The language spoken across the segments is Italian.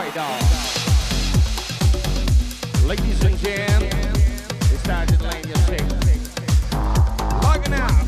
right on. Ladies and gentlemen, it's time to land your tickets. Logging out.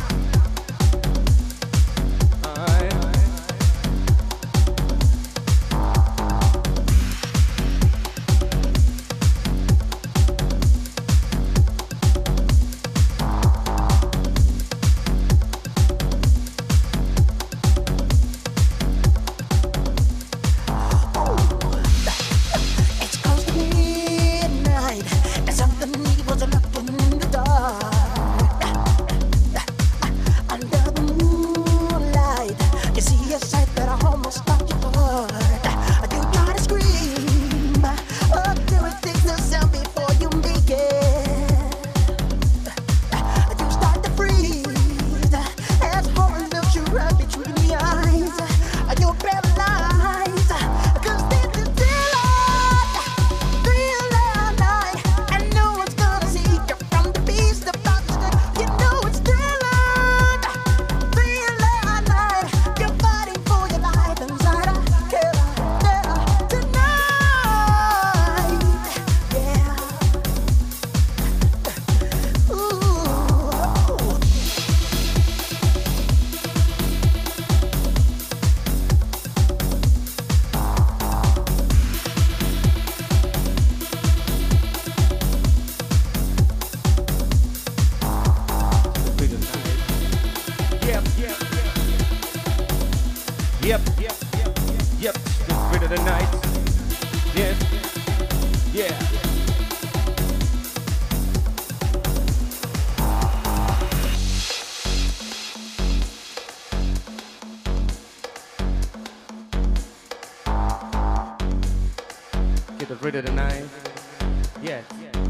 Rid of the night. Yeah.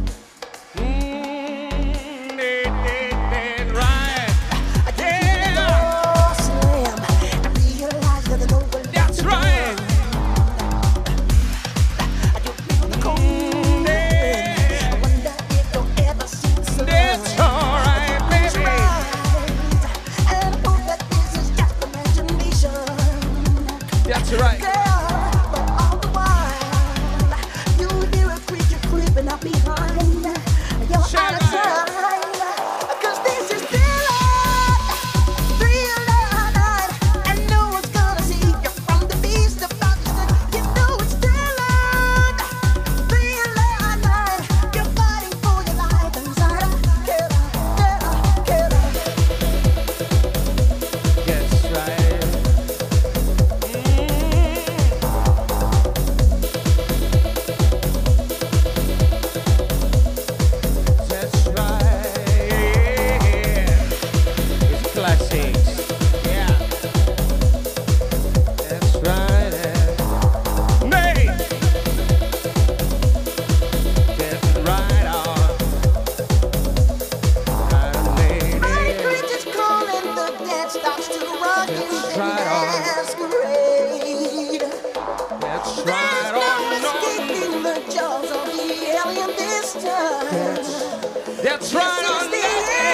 That's right on the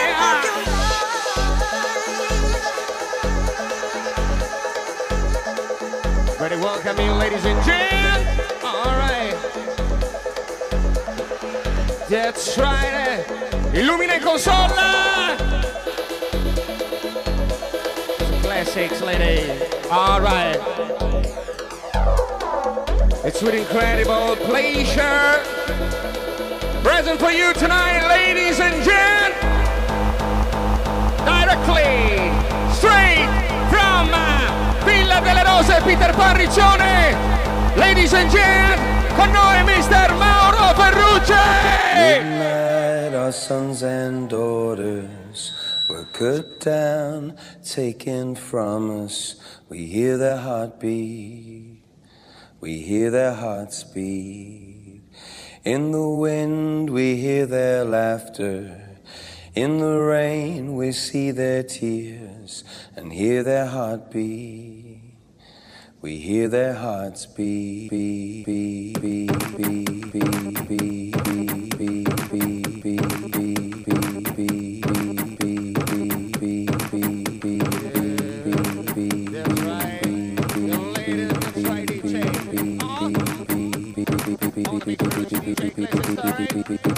air. Ready, welcome you, ladies and gentlemen. All right. That's right. Illumina console. Classics, lady. All right. It's with incredible pleasure. Present for you tonight, ladies and gentlemen, directly, straight from Villa delle Rose, Peter Pan Riccione. Ladies and gentlemen, con noi Mr. Mauro Ferrucci. Midnight, our sons and daughters were cut down, taken from us. We hear their heartbeat, we hear their hearts beat. In the wind we hear their laughter, in the rain we see their tears and hear their heartbeat. We hear their hearts beat, beat, beat, beat, beat, beat, beat, beat, beat, beat, beat, beat, beat, beat, beat, beat.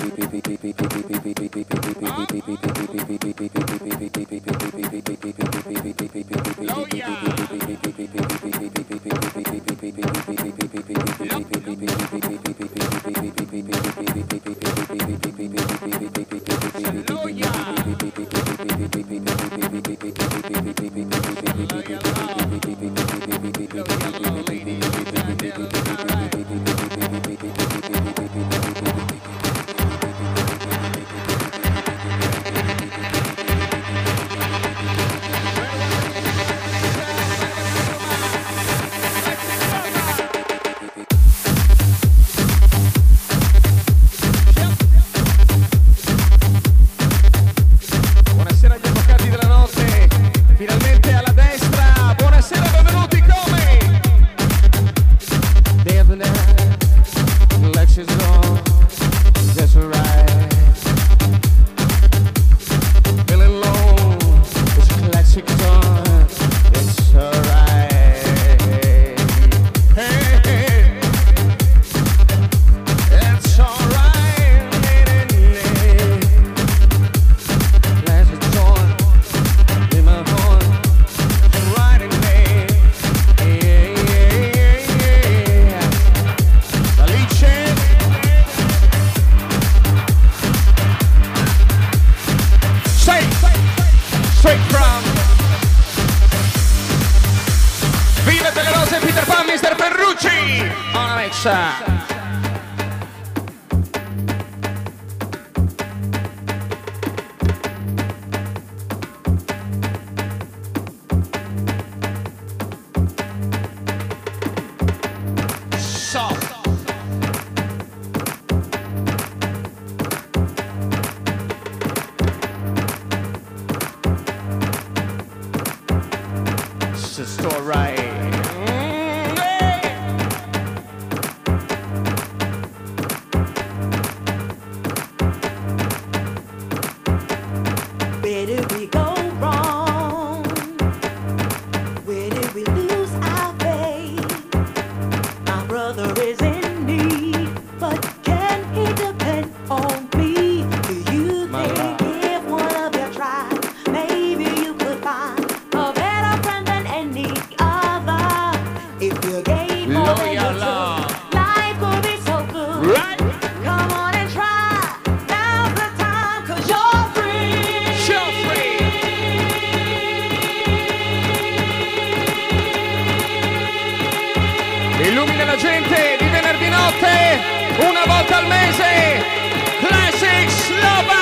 Illumina la gente di venerdì notte, una volta al mese, Classic Slova!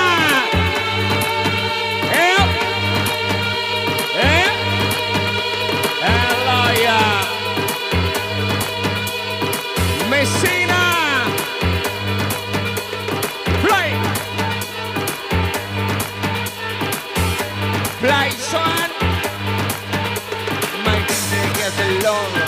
Loia! Messina! Play! Play, son! My DJ gets along.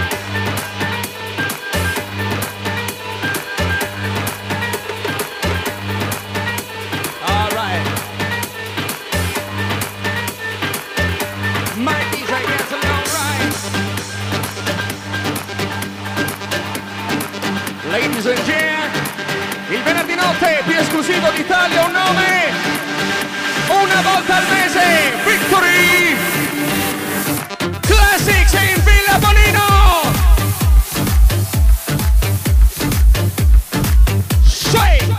Ladies and gentlemen, il venerdì notte più esclusivo d'Italia, un nome, una volta al mese, Victory Classics in Villa Bonino. Shake,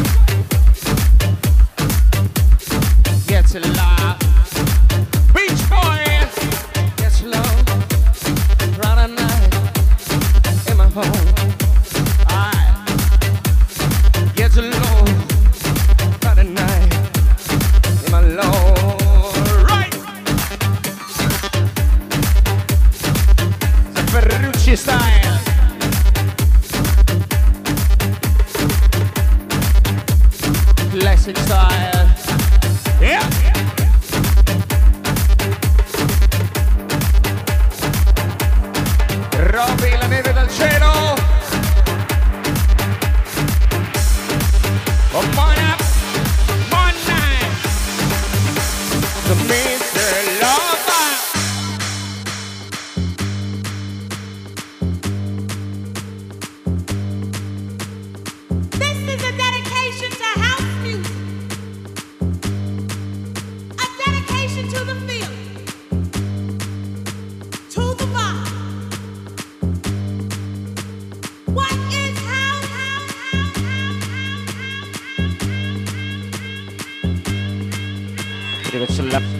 gets it loud, Beach Boys, gets low, Friday night in my home. Gets alone Friday night in my Lord. Right! The Ferrucci style. Classic style. Yeah! Robby, la neve dal cielo. Come on up, one night to Mr. Lover. This is a dedication to get your love.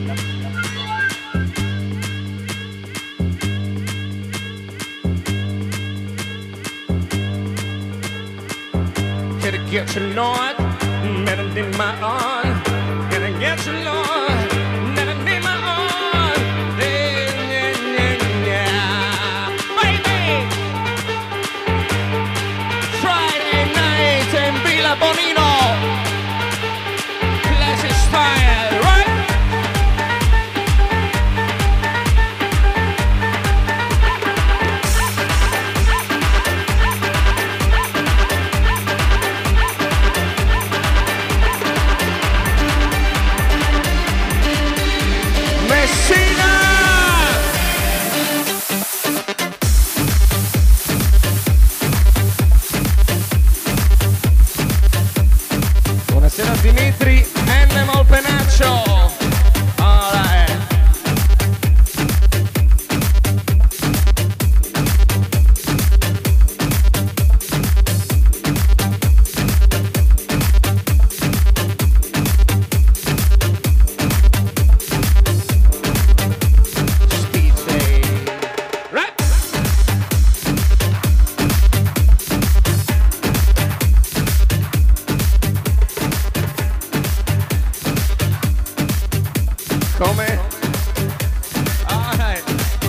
Gotta get your Lord, better than my own. Gotta get your Lord, better than my own. Yeah. Baby! Friday night in Villa Bonino. Classic style, right? Buonasera Dimitri, Animal Penaccio. All right. Speed say, right. Come? All right.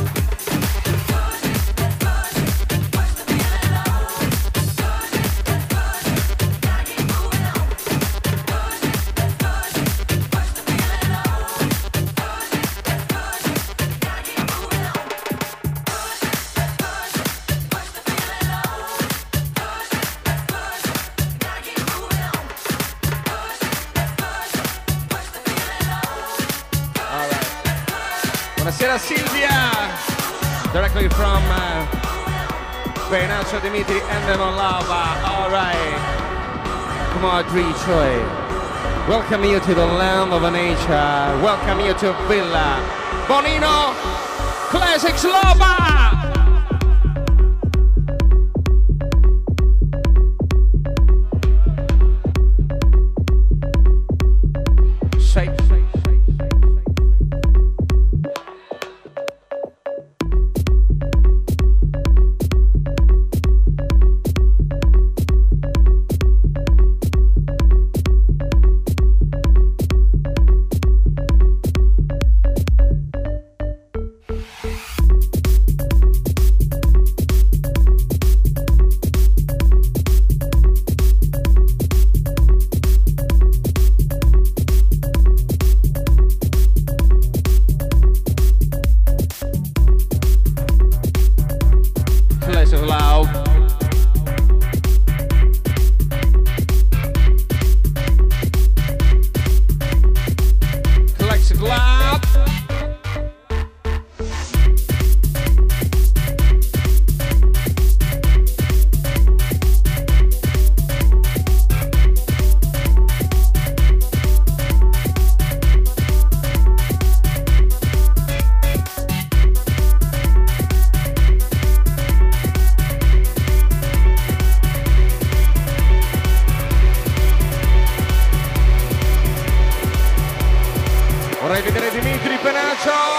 Buonasera Silvia, directly from Penaccio Dimitri and then on Lava. All right, come on, Dri Choi. Welcome you to the land of nature. Welcome you to Villa Bonino Classics Lava. Shake. Classic loud. Classic loud. Vorrei vedere Dimitri Penaccio.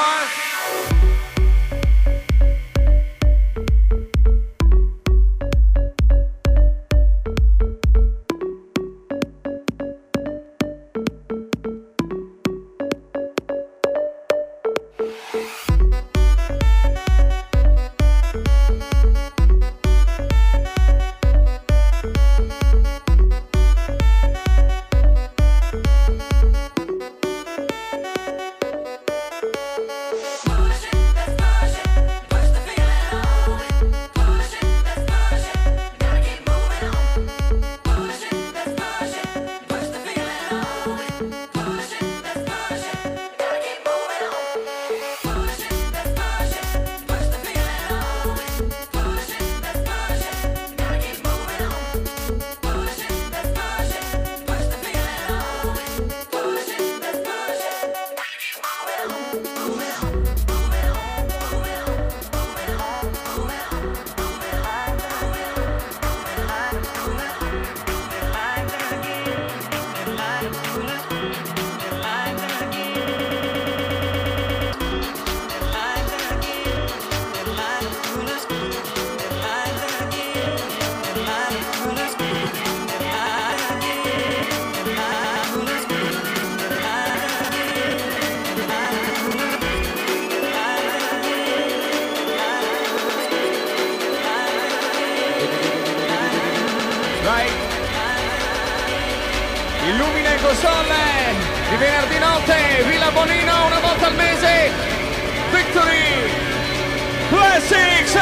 illumina il Cosole di venerdì notte, Villa Bonino, una volta al mese, Victory Classics.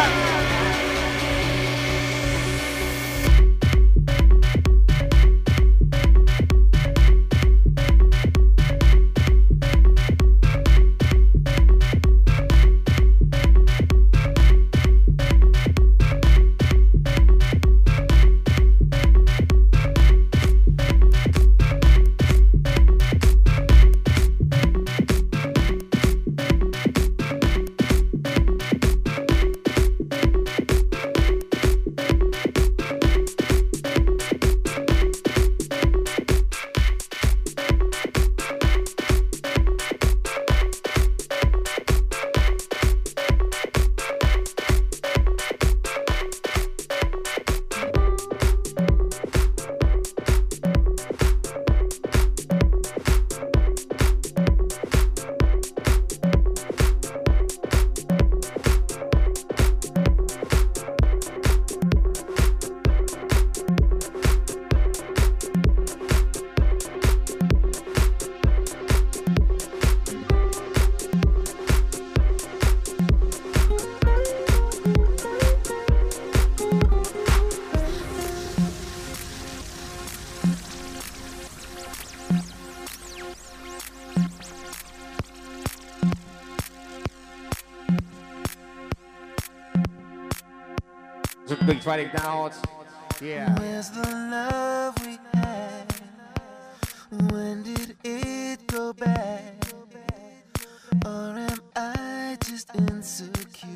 Big Friday down. Yeah. Where's the love we had? When did it go bad? Or am I just insecure?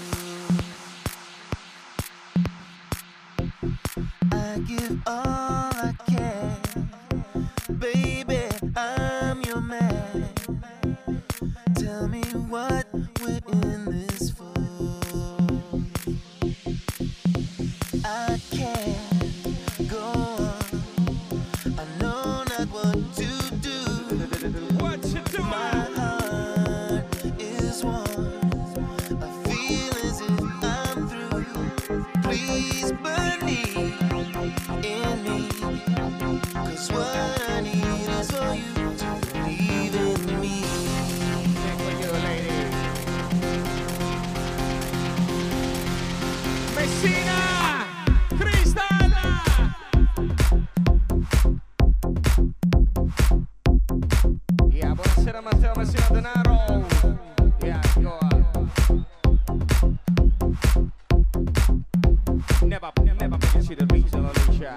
I give all I can. Baby, I'm your man. Tell me what we're in this for. I can't go on. I know not what to do. What you doing? My heart is warm. I feel as if I'm through. Please believe in me. 'Cause what I need is for you to believe in me. Thank you, lady. Messina! Yeah, buonasera Matteo Messina Denaro. Yeah, go Never pensi del riso alla luce.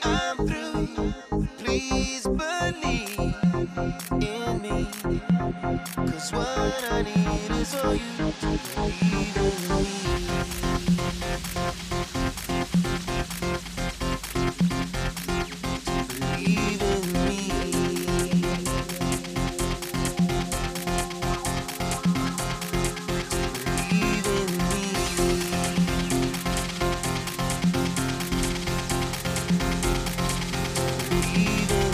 I'm through, please believe in me. 'Cause what I need is for you to believe in me. Believe in me. Believe in me. Believe in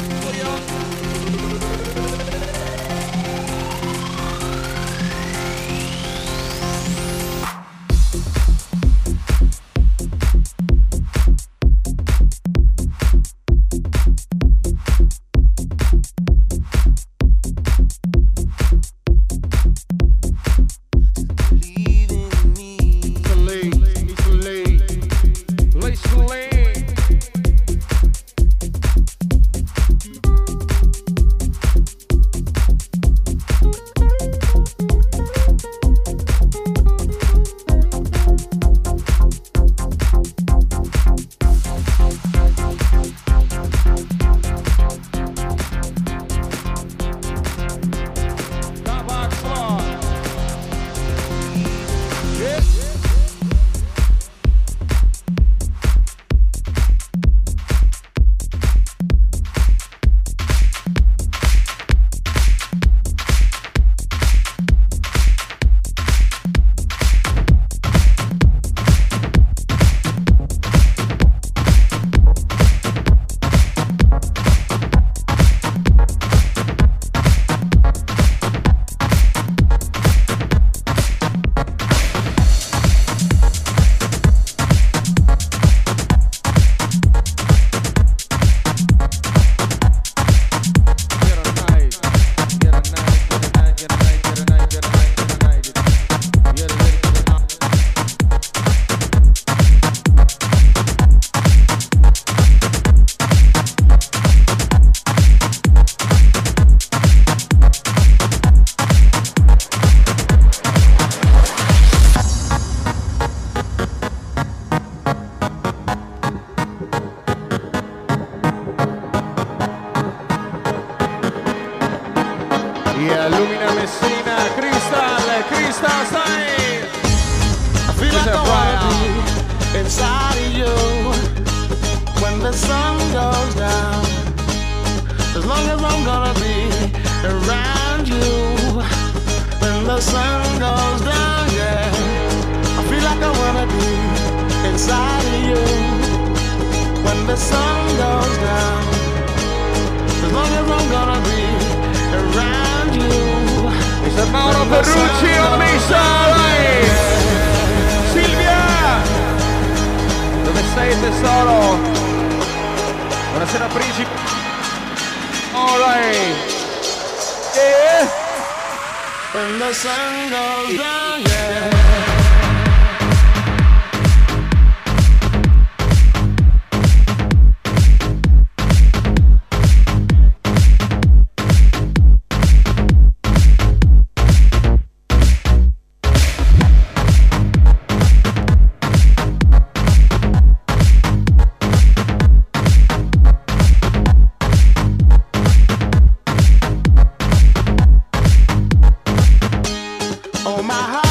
Lumina Messina, Crystal Style. I feel like I wanna be inside of you when the sun goes down. As long as I'm gonna be around you when the sun goes down, yeah. I feel like I wanna be inside of you when the sun goes down. As long as I'm gonna be around you. Mr. Mauro Ferrucci on Misa, Silvia, dove sei tesoro? Buonasera Principe. Alright. Yeah. When the sun goes down, yeah. Oh my heart.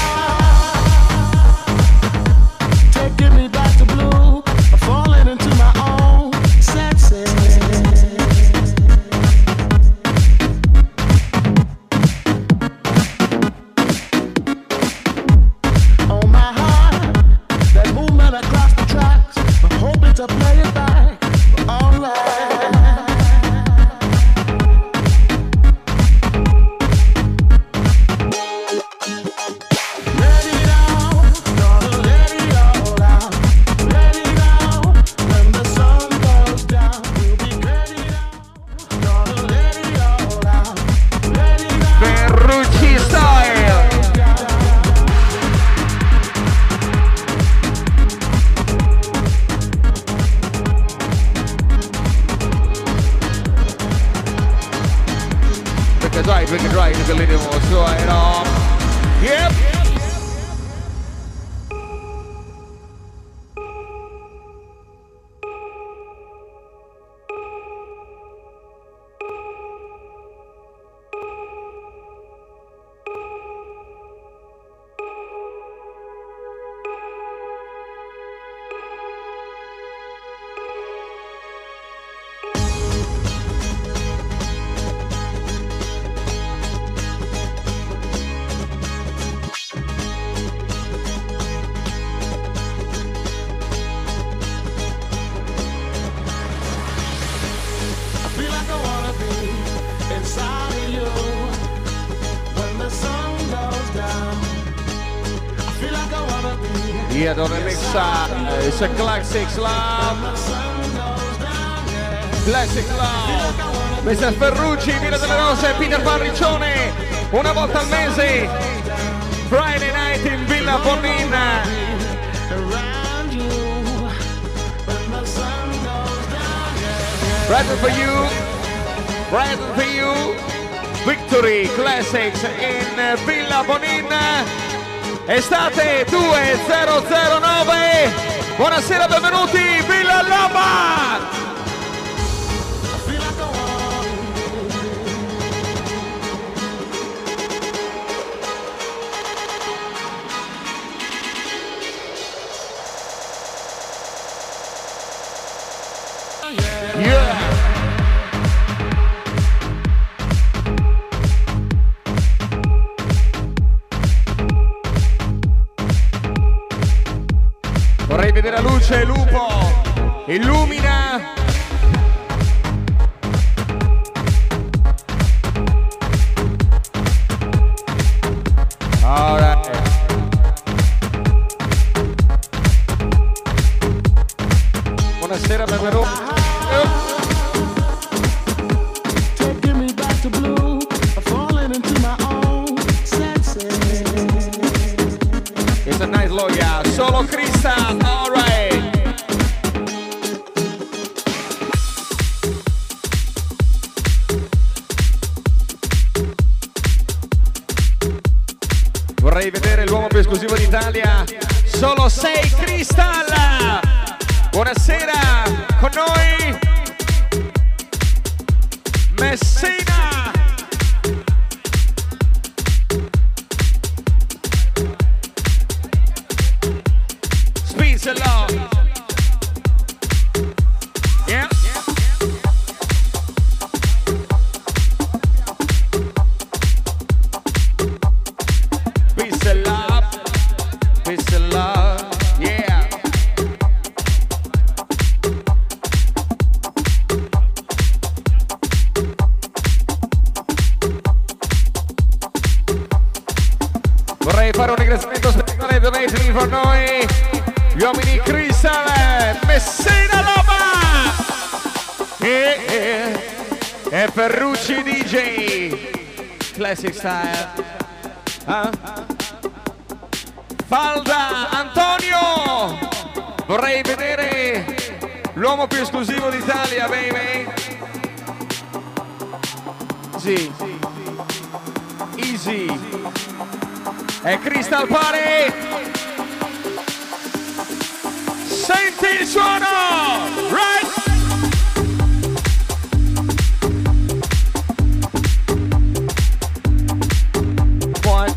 we can try it a little more. So yep. Yeah, the remix, it's a classic love. Classic love. Mr. Ferrucci, Villa delle Rose, Peter Parriccione, una volta al mese. Friday night in Villa Bonin. Present for you. Present for you. Victory Classics in Villa Bonin. Estate 2009. Buonasera, benvenuti, Villa Lama. Yeah. Vorrei vedere la luce, lupo, illumina. All right. Buonasera, benvenuti. It's a nice lawyer, solo Crystal, all right. Vorrei vedere l'uomo più esclusivo d'Italia, solo 6 Crystal. Buonasera, con noi Messina. Speeds a lot. Yeah. Peace and love. Peace and love. Yeah. Vorrei fare un ringraziamento speciale donation per noi, gli uomini Crystal, Messina Loma e Ferrucci DJ, classic style. Falda Antonio, vorrei vedere l'uomo più esclusivo d'Italia, baby. Sì. Easy. E Crystal Party. Senti il suono, right? One.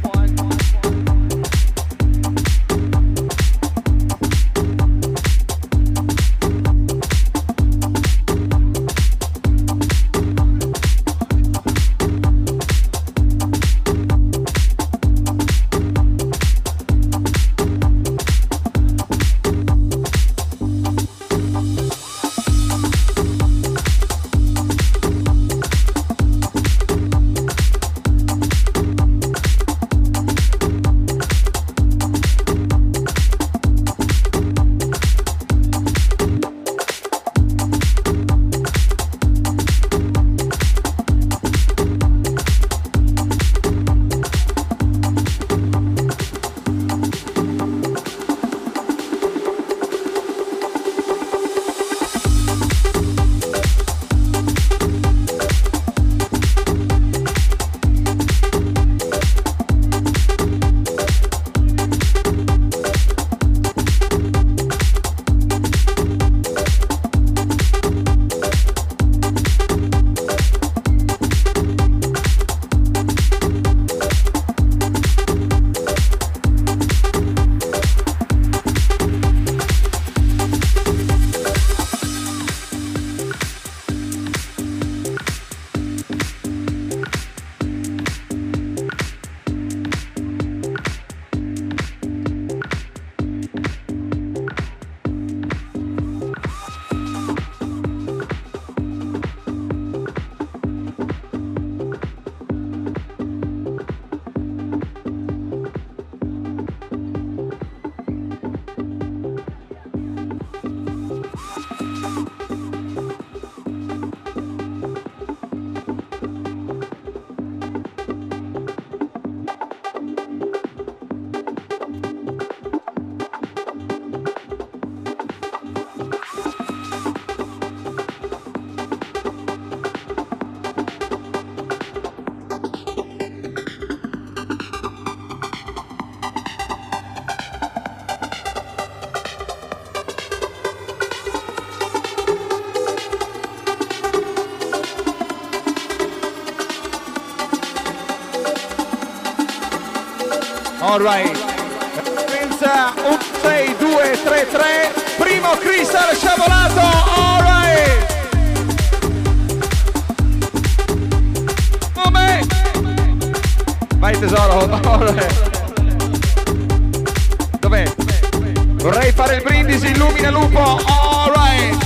Alright. 1, 6, 2, 3, 3. Primo Crystal sciavolato. Alright. Come? Vai tesoro. Alright. Dov'è? Vorrei fare il brindisi, illumina lupo. Alright.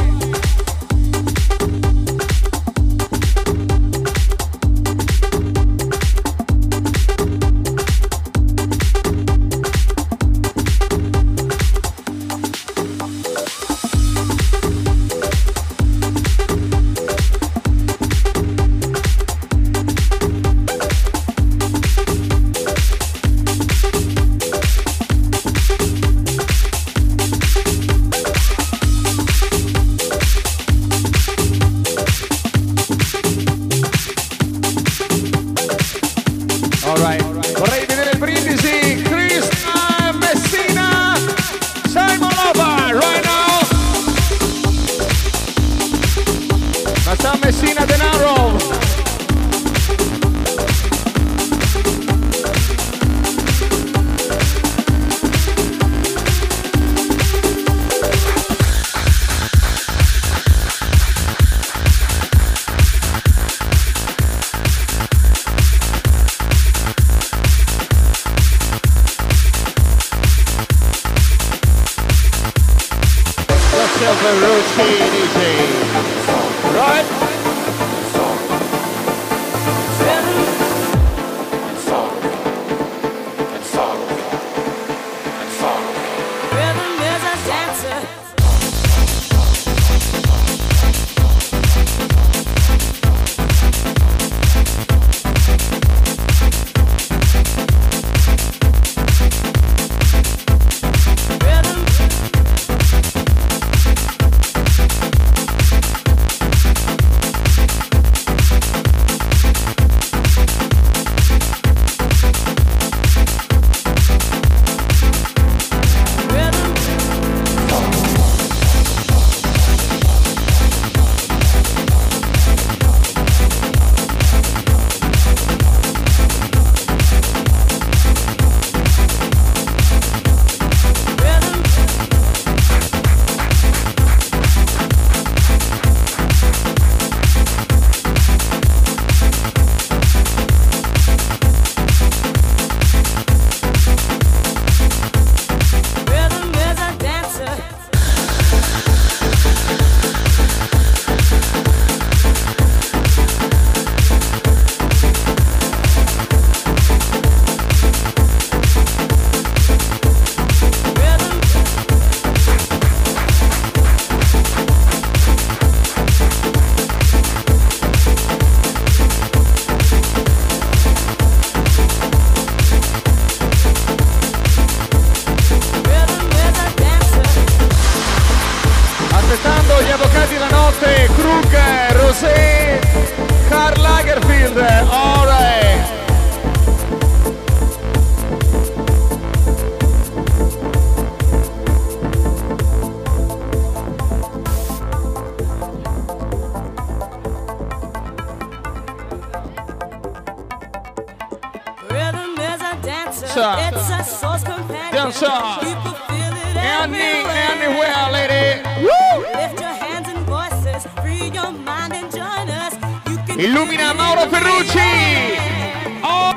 Anywhere, lady. Woo! Lift your hands and voices, free your mind and join us. Illumina Mauro Ferrucci. Oh.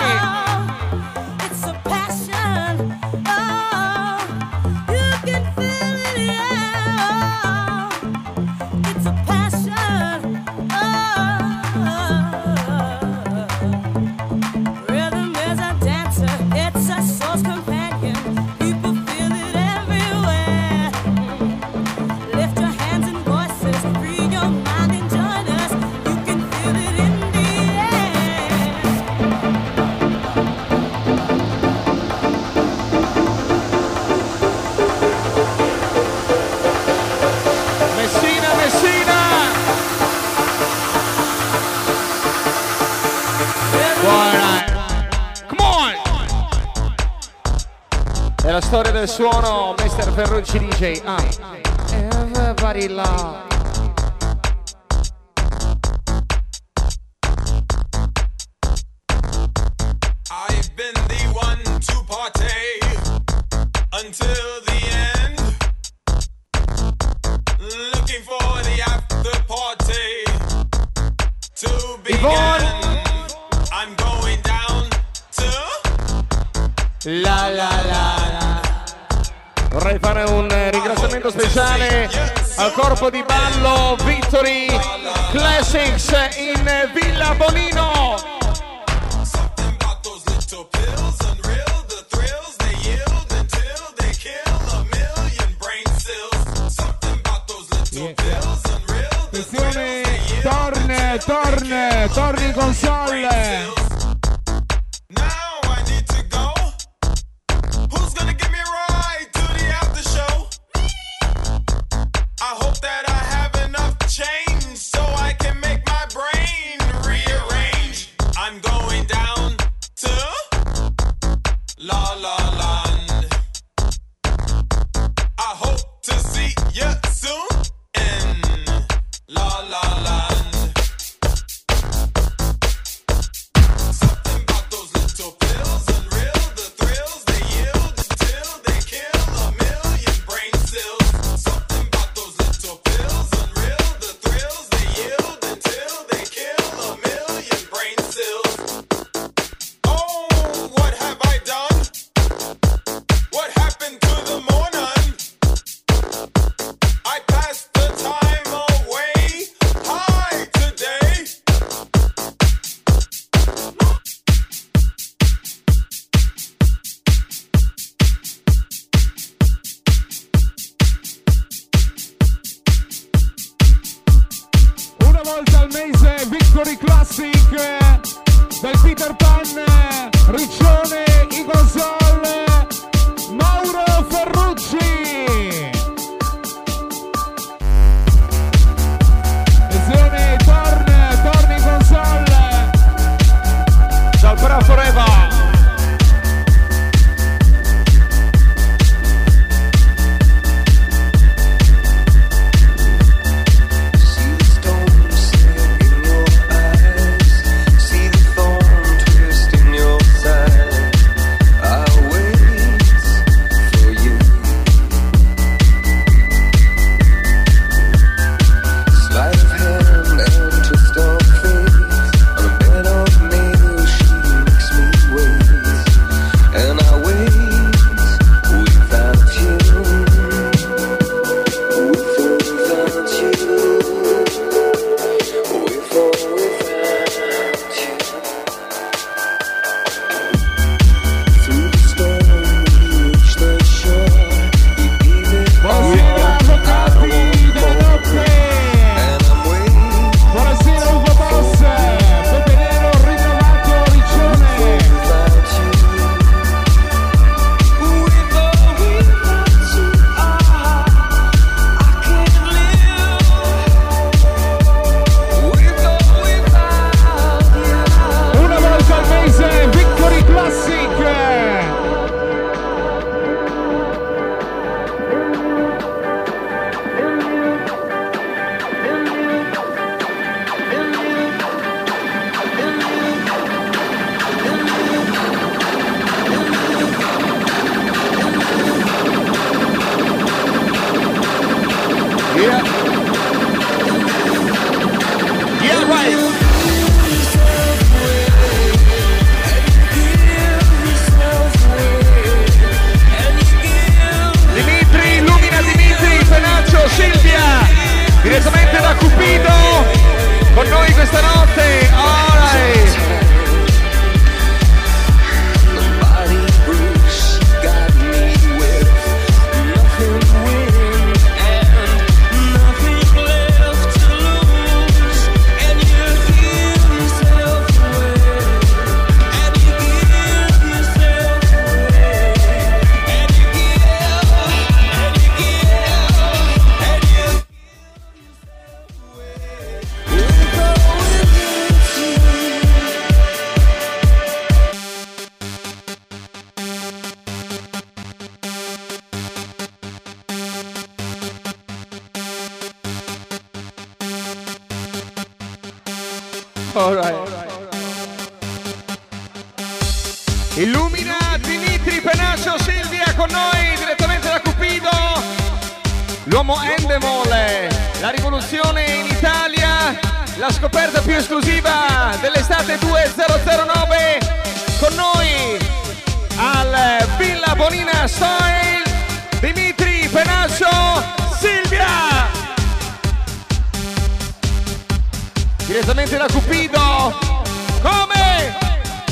It's a passion. Oh, you can feel it, yeah. It's a passion. Oh, rhythm is a dancer. It's a soul's companion. People feel it everywhere. Lift your hands and voices, free your mind and join us. You can feel it in the air. Messina, Messina. Buona. Come on. È la storia del suono, Mr. Ferrucci DJ. Everybody love. I've been the one until the end. Looking for the after party to begin. I'm going down to la la la. Vorrei fare un ringraziamento speciale al corpo di ballo Victory Classics in Villa Bonino. Attenzione, torni console. Victory Classic del Peter Pan, Riccione in console, Mauro Ferrucci. Attenzione, torni in console. Ciao Bra Forever. Direttamente da Cupido con noi questa notte. Alright. Illumina Divinity. Dimitri Penaccio, Silvia con noi direttamente da Cupido, l'uomo Endemol, la rivoluzione in Italia, la scoperta più esclusiva dell'estate 2009 con noi al Villa Bonina Style, Dimitri Penaccio, Silvia, direttamente da Cupido, come?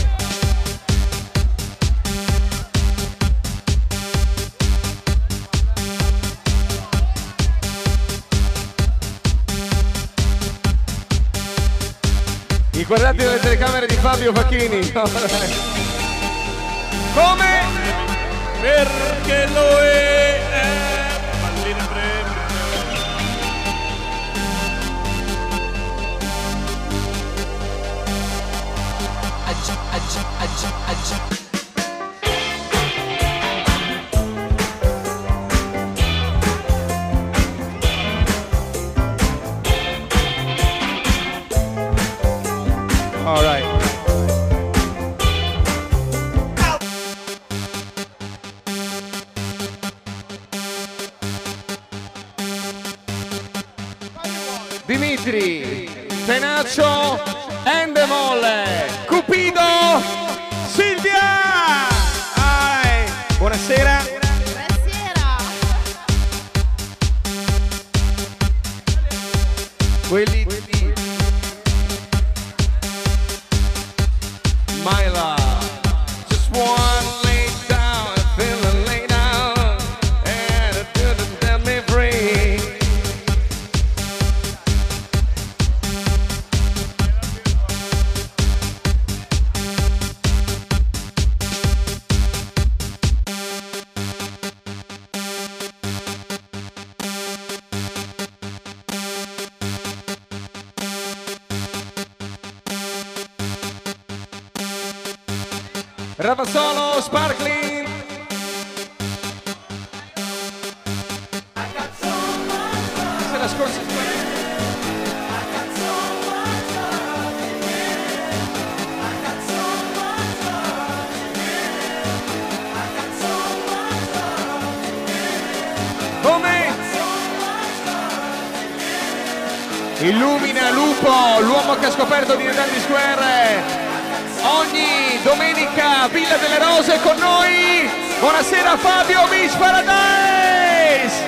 Guardate le telecamere di Fabio Facchini. Come? Perché lo è. Pallina All right. Dimitri Penaccio, Endemol, Cupido, Silvia. All right. Buonasera. Buonasera. Quelli di My love, just wanna lay down and feel lay down, and it didn't set me free. Ravazzolo, Sparkling. Se la scorsa. Come? Illumina Lupo, l'uomo che ha scoperto di Natale Square. Ogni domenica Villa delle Rose con noi. Buonasera Fabio Beach Paradise.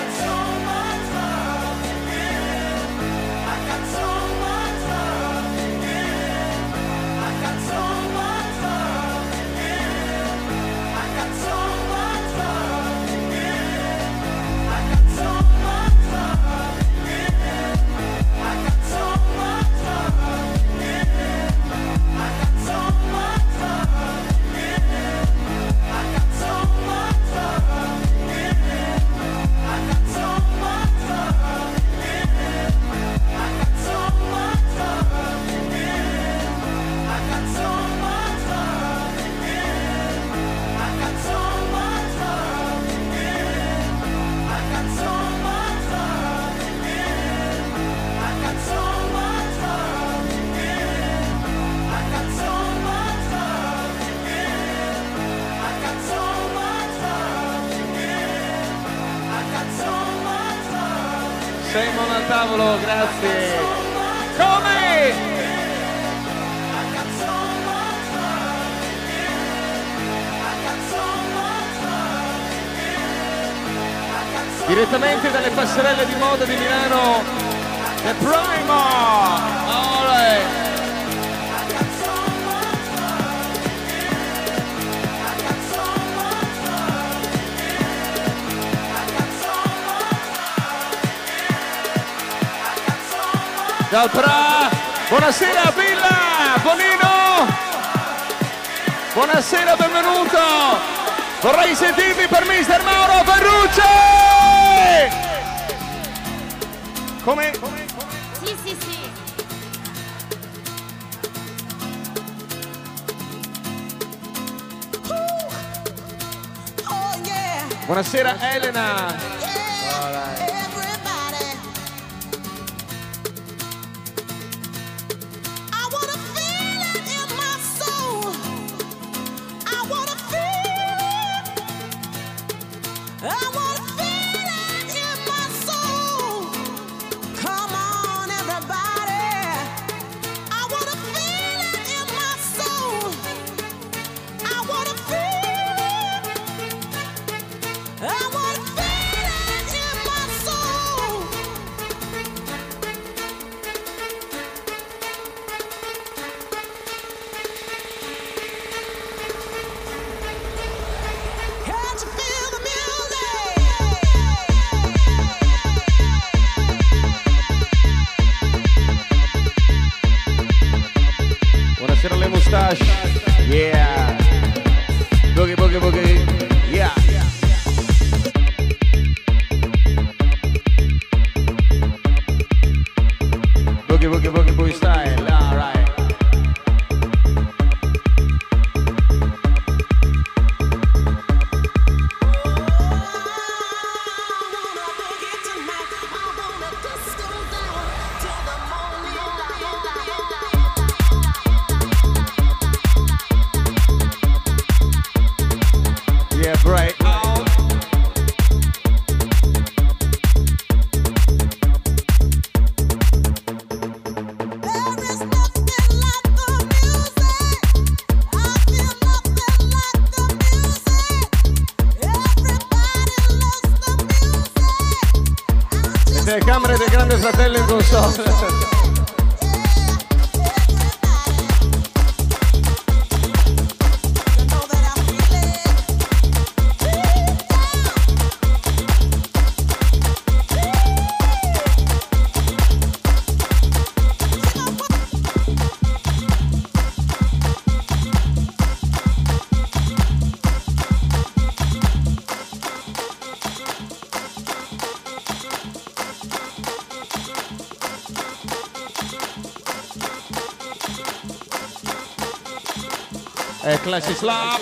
Simon al tavolo, grazie. Come? Direttamente dalle passerelle di moda di Milano, The Primer. All right. Dal Pra, buonasera Villa, Bonino, buonasera, benvenuto, vorrei sentirvi per Mister Mauro Ferrucci! Come? Sì, sì, sì. Buonasera Elena. I wanna feel Mustache. Yeah. Boogie, boogie, boogie. Yeah. Boogie, boogie, boogie, boogie style. All right. Yeah, right. Telecamere del Grande Fratello in console. Classic slap.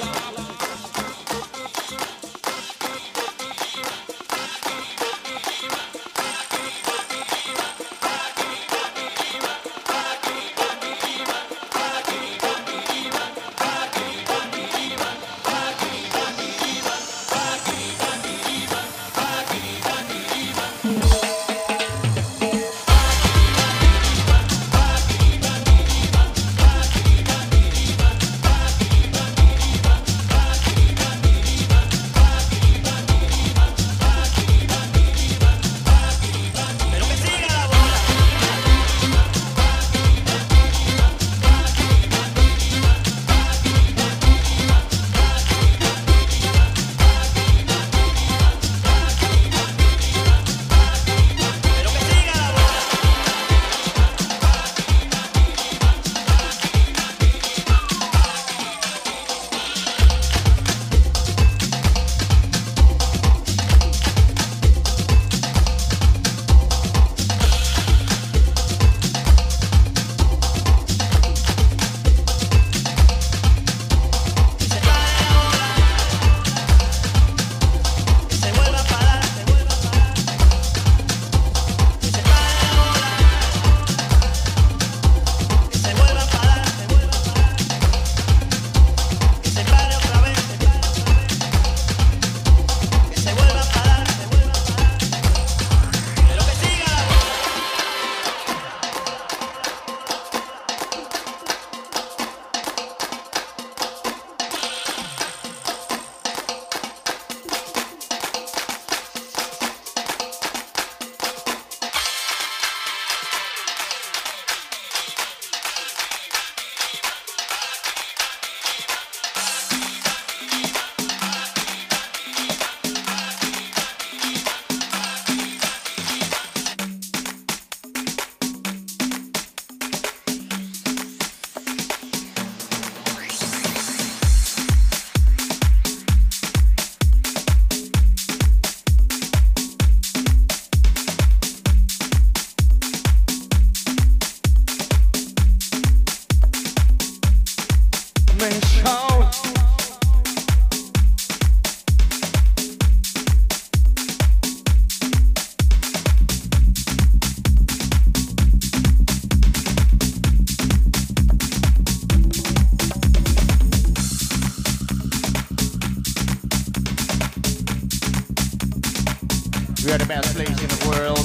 We are the best place in the world.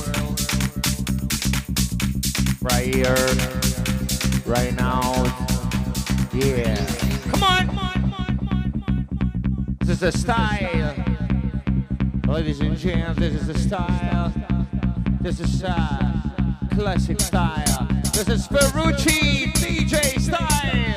Right here, right now. Yeah. Come on. This is the style. Ladies and gents, this is the style. This is classic style. This is Ferrucci DJ style.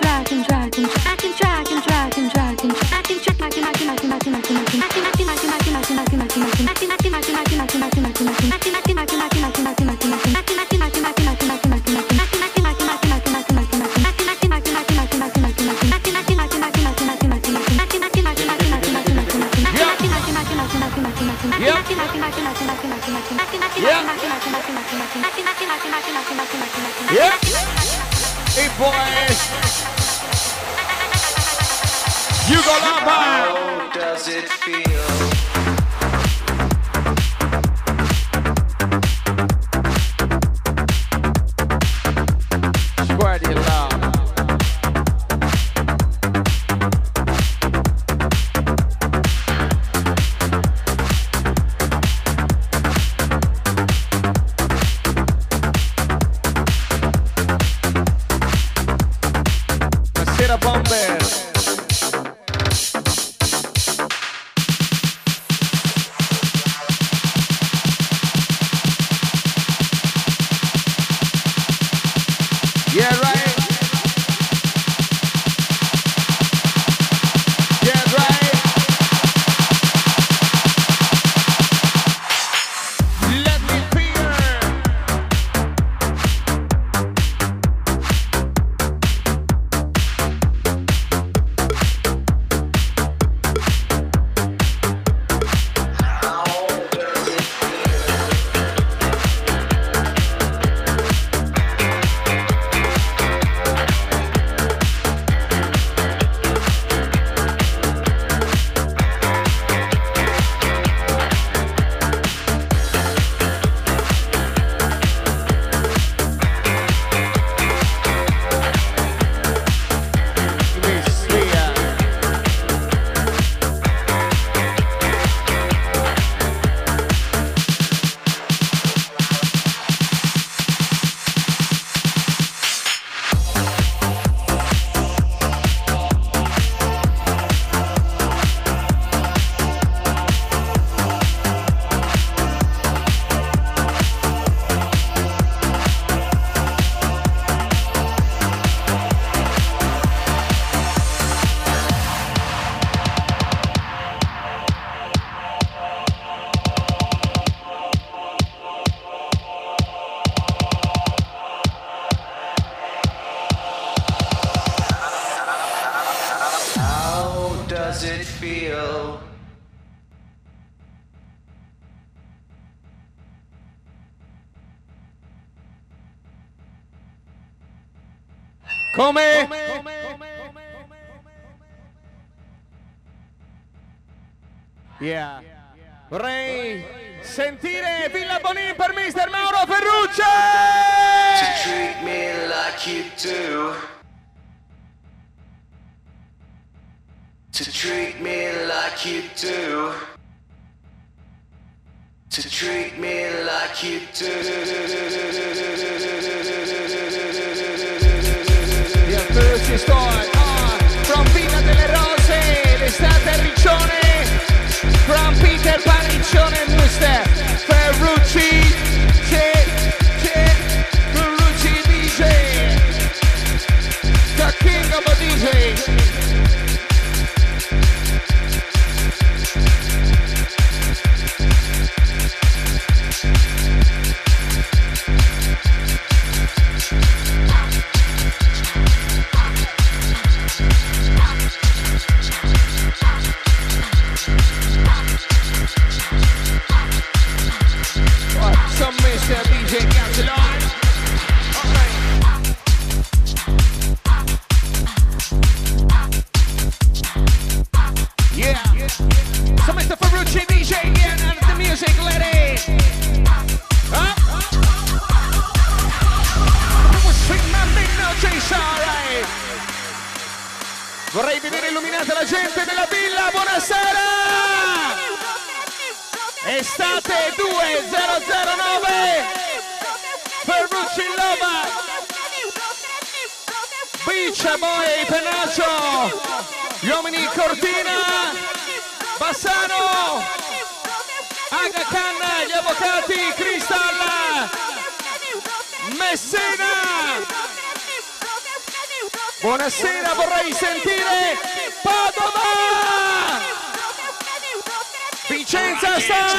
Yeah. Hey boys. Hugo Lava. How does it feel? Spread your love. Buonasera Bomber. Yeah, right. Yeah, right. Let me feel. How does it feel? Come? Yeah. Vorrei sentire Villa Bonin per Mr. Mauro Ferrucci! To treat me like you do. To treat me like you do. To treat me like you do. The Ferrucci Store, from Villa delle Rose, l'estate a Riccione, from Peter Paniccione e Mr. Ferrucci, Ferrucci DJ, the king of a DJ. Some Mr. DJ Gasolone. Yeah. So Mr. Ferrucci DJ again and the music lady. Alright. Vorrei vedere illuminata la gente della villa. Buonasera. Estate 2009. Ferrucci Lova. Beach Boy Penaccio. Gli uomini Cortina. Bassano. Aga Khan, gli avvocati Crystal. Messina. Buonasera, vorrei sentire Padova. Vicenza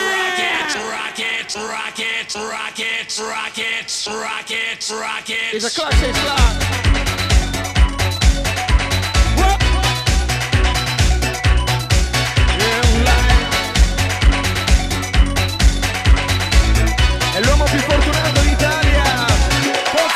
Rockets. It's a classic slot. È l'uomo più fortunato d'Italia.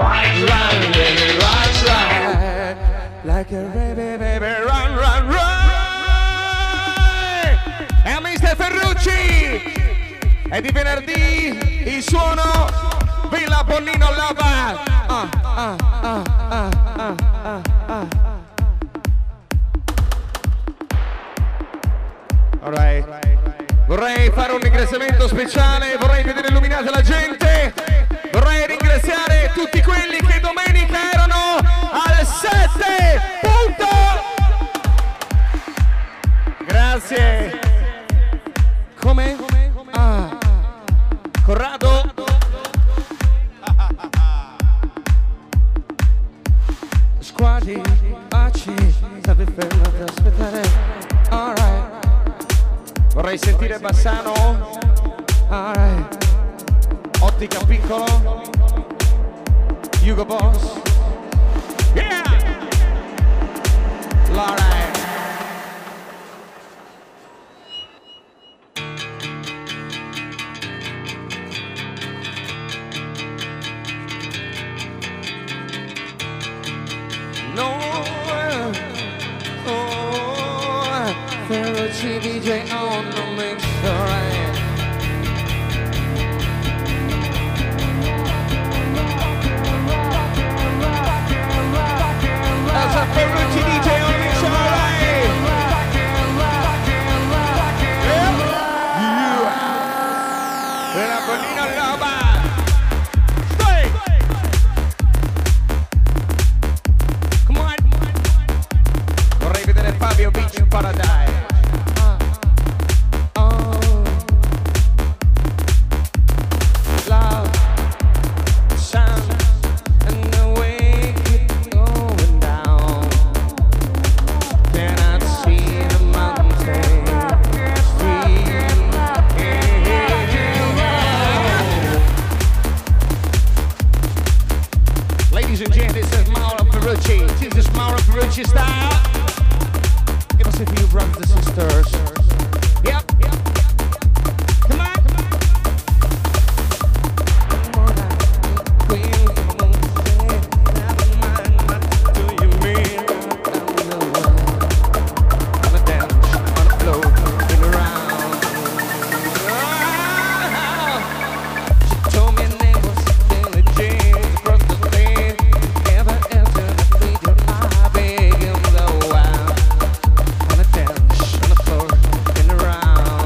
Run, baby, run. Like a baby, baby, run, run, run. E a Mr. Ferrucci. È di venerdì il suono Villa Bonino Lava. Alright. Vorrei fare un ringraziamento speciale, vorrei vedere illuminata la gente, vorrei ringraziare tutti quelli che domenica erano al 7 punto. Grazie. Come? Corrado. Squadri, baci, stavi fermo ad aspettare. Alright. Vorrei sentire Bassano. Alright. Ottica Piccolo. Hugo Boss. Yeah! Alright. Ferrucci DJ on the mix, alright. That's a Ferrucci DJ on the mix, alright. Yeah. Della Bonino Lava. Stay. Come on. Vorrei vedere Fabio Beach in Paradise. Style. Give us a few brothers and sisters. Yep. Come on. Do you mean? On the dance, on the floor, in around. She told me her name was Billie Jean. Across the street, never entered the video. I beg him the while. On the dance, on the floor, in around.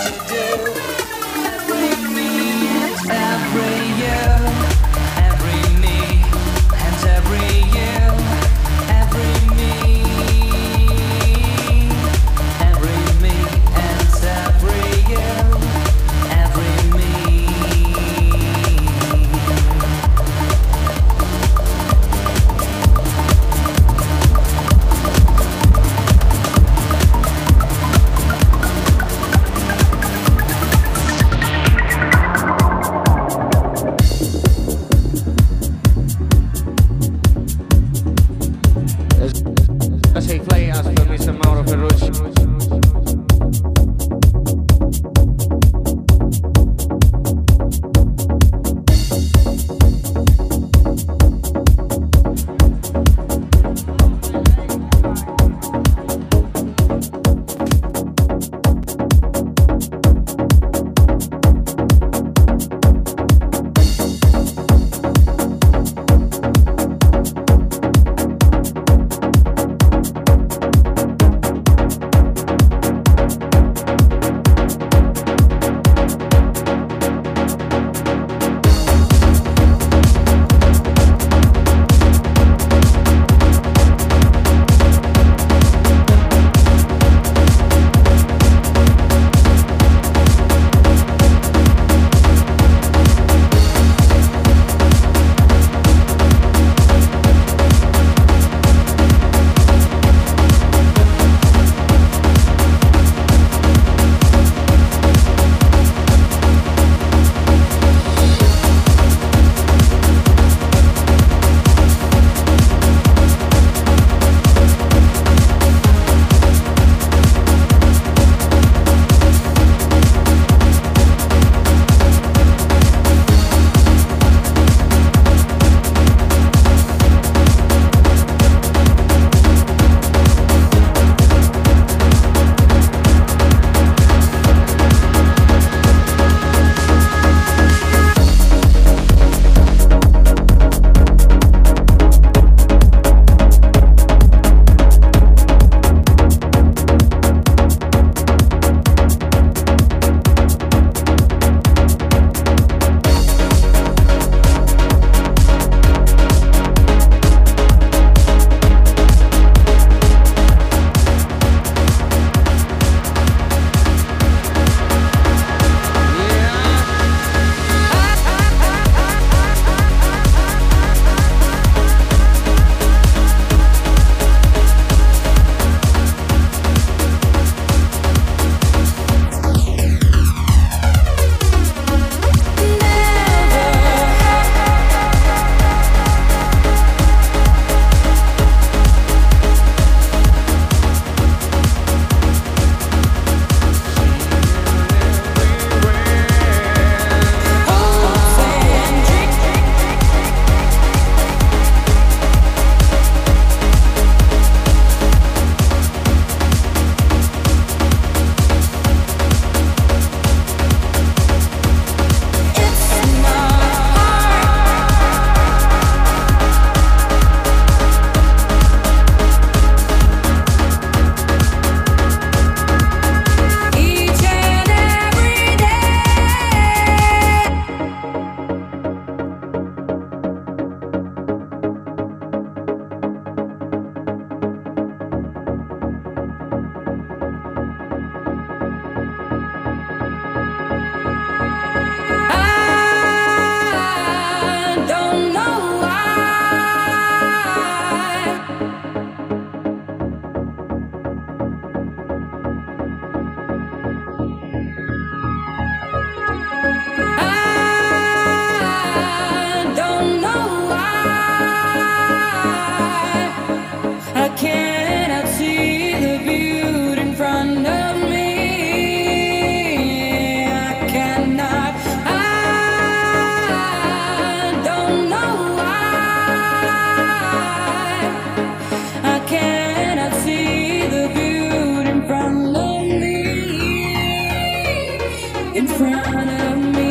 in front of me.